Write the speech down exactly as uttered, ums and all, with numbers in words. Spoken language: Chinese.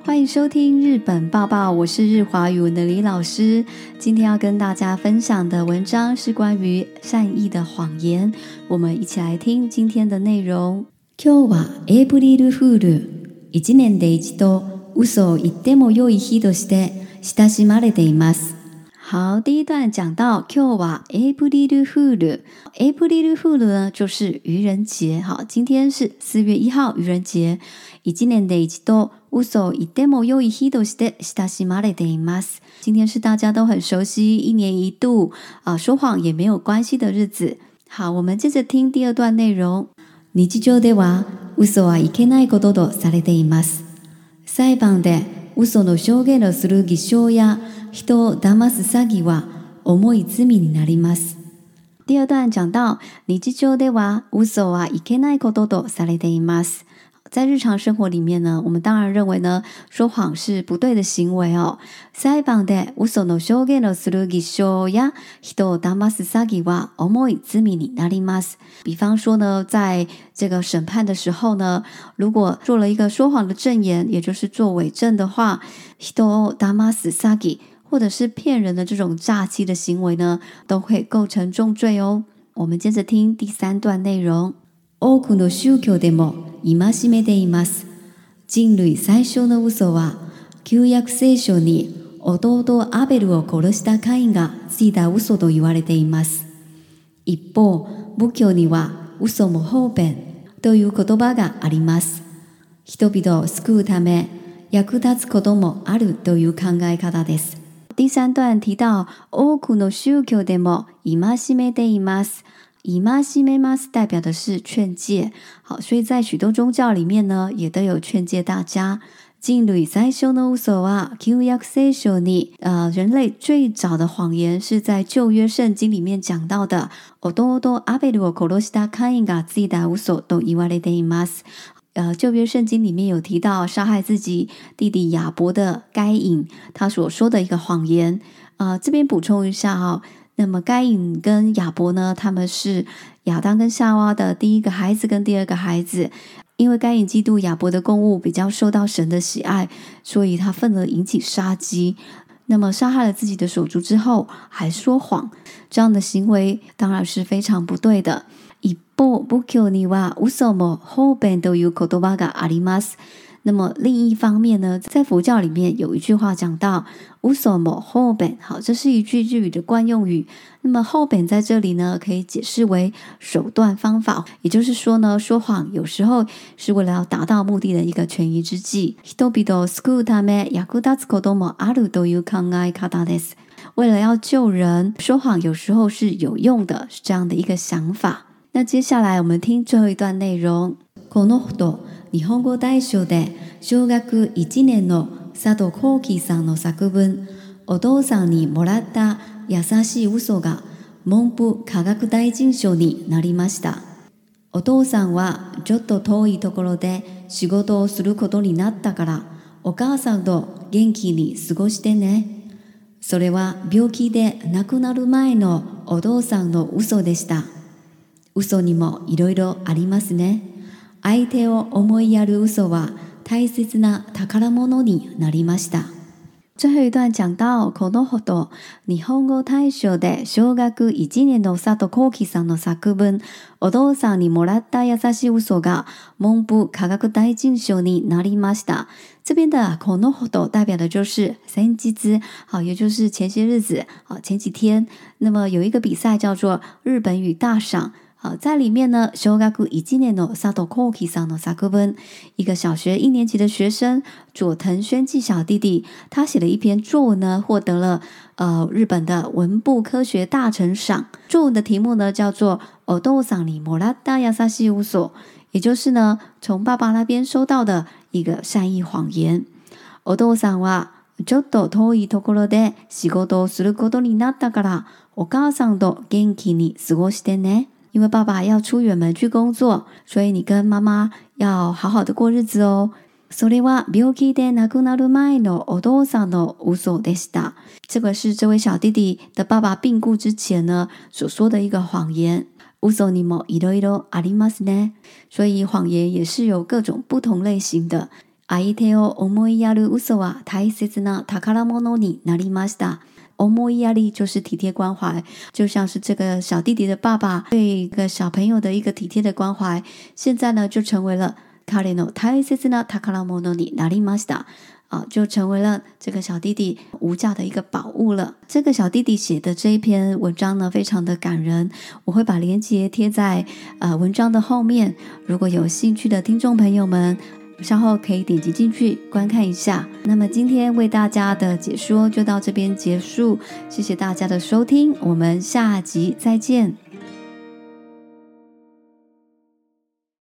欢迎收听日本报报，我是日华语文的李老师。今天要跟大家分享的文章是关于善意的谎言，我们一起来听今天的内容。今日はエイプリルフール。一年で一度嘘を言っても良い日として親しまれています。好，第一段讲到今日はエイプリルフール。エイプリルフール呢，就是愚人节。好，今天是四月一号，愚人节。一年で一度嘘を言っても良い日として親しまれています。今天是大家都很熟悉，一年一度啊、呃，说谎也没有关系的日子。好，我们接着听第二段内容。日常では嘘はいけないこととされています。裁判で嘘の証言をする偽証や人を騙す詐欺は重い罪になります。第二段講到日常では嘘はいけないこととされています。在日常生活里面呢，我们当然认为呢，说谎是不对的行为哦。裁判で嘘の証言をする偽証や人を騙す詐欺は重い罪になります。比方说呢，在这个审判的时候呢，如果做了一个说谎的证言，也就是做伪证的话，人を騙す詐欺或者是骗人的这种诈欺的行为呢，都会构成重罪哦。我们接着听第三段内容。多くの宗教でも戒めています。人類最小の嘘は旧約聖書に弟アベルを殺したカインがついた嘘と言われています。一方、仏教には嘘も方便という言葉があります。人々を救うため役立つこともあるという考え方です。第三段提到多くの宗教でも戒めています。戒めます代表的是劝诫，好，所以在许多宗教里面呢，也都有劝诫大家。人類最小の嘘は旧約聖書に，呃，人类最早的谎言是在旧約聖經里面講到的。弟アベルを殺したカインがついた嘘と言われています。呃，旧約聖經里面有提到殺害自己弟弟亞伯的該隱，他所說的一個謊言。呃，這邊補充一下哈、哦。那麼該隱跟亞伯呢，他們是亞當跟夏娃的第一個孩子跟第二個孩子。因為該隱嫉妒亞伯的供物比較受到神的喜愛，所以他憤而引起殺機。那麼殺害了自己的手足之後，還說謊，這樣的行為當然是非常不對的。一方、仏教には嘘も方便という言葉があります。那麼另一方面呢，在佛教里面有一句話講到嘘も方便，好，這是一句日語的慣用語。那麼方便在這裡呢，可以解釋為手段方法，也就是說呢，說謊有時候是為了要達到目的的一個權宜之計。人々を救うため役立つこともあるという考え方です。為了要救人，說謊有時候是有用的，是這樣的一個想法。那接下來我們聽最後一段內容。このほど日本語大賞で小学いちねんの佐藤幸輝さんの作文お父さんにもらった優しい嘘が文部科学大臣賞になりました。お父さんはちょっと遠いところで仕事をすることになったからお母さんと元気に過ごしてね。それは病気で亡くなる前のお父さんの嘘でした。嘘にもいろいろありますね。相手を思いやる嘘は大切な宝物になりました。最後一段講到このほど日本語大賞で小学いちねんの佐藤幸輝さんの作文お父さんにもらった優しい嘘が文部科学大臣賞になりました。这边的このほど代表的就是先日，好，也就是前些日子，好，前几天。那么有一个比賽叫做日本語大賞。好，在里面呢，小学一年の佐藤幸輝さんの作文，一个小学一年级的学生佐藤宣纪小弟弟，他写了一篇作文呢，获得了呃日本的文部科学大臣赏。作文的题目呢叫做お父さんにもらった優しい嘘，也就是呢从爸爸那边收到的一个善意谎言。お父さんはちょっと遠いところで仕事をすることになったから、お母さんと元気に過ごしてね。因为爸爸要出远门去工作，所以你跟妈妈要好好的过日子哦。それは病気で亡くなる前のお父さんの嘘でした。这个是这位小弟弟的爸爸病故之前呢所说的一个谎言。嘘にもいろいろありますね。所以谎言也是有各种不同类型的。 相手を思いやる嘘は大切な宝物になりました。思いやり就是体贴关怀，就像是这个小弟弟的爸爸对一个小朋友的一个体贴的关怀，现在呢就成为了彼の大切な宝物になりました。啊，就成为了这个小弟弟无价的一个宝物了。这个小弟弟写的这一篇文章呢，非常的感人，我会把链接贴在呃文章的后面。如果有兴趣的听众朋友们，稍后可以点击进去观看一下。那么今天为大家的解说就到这边结束，谢谢大家的收听，我们下集再见。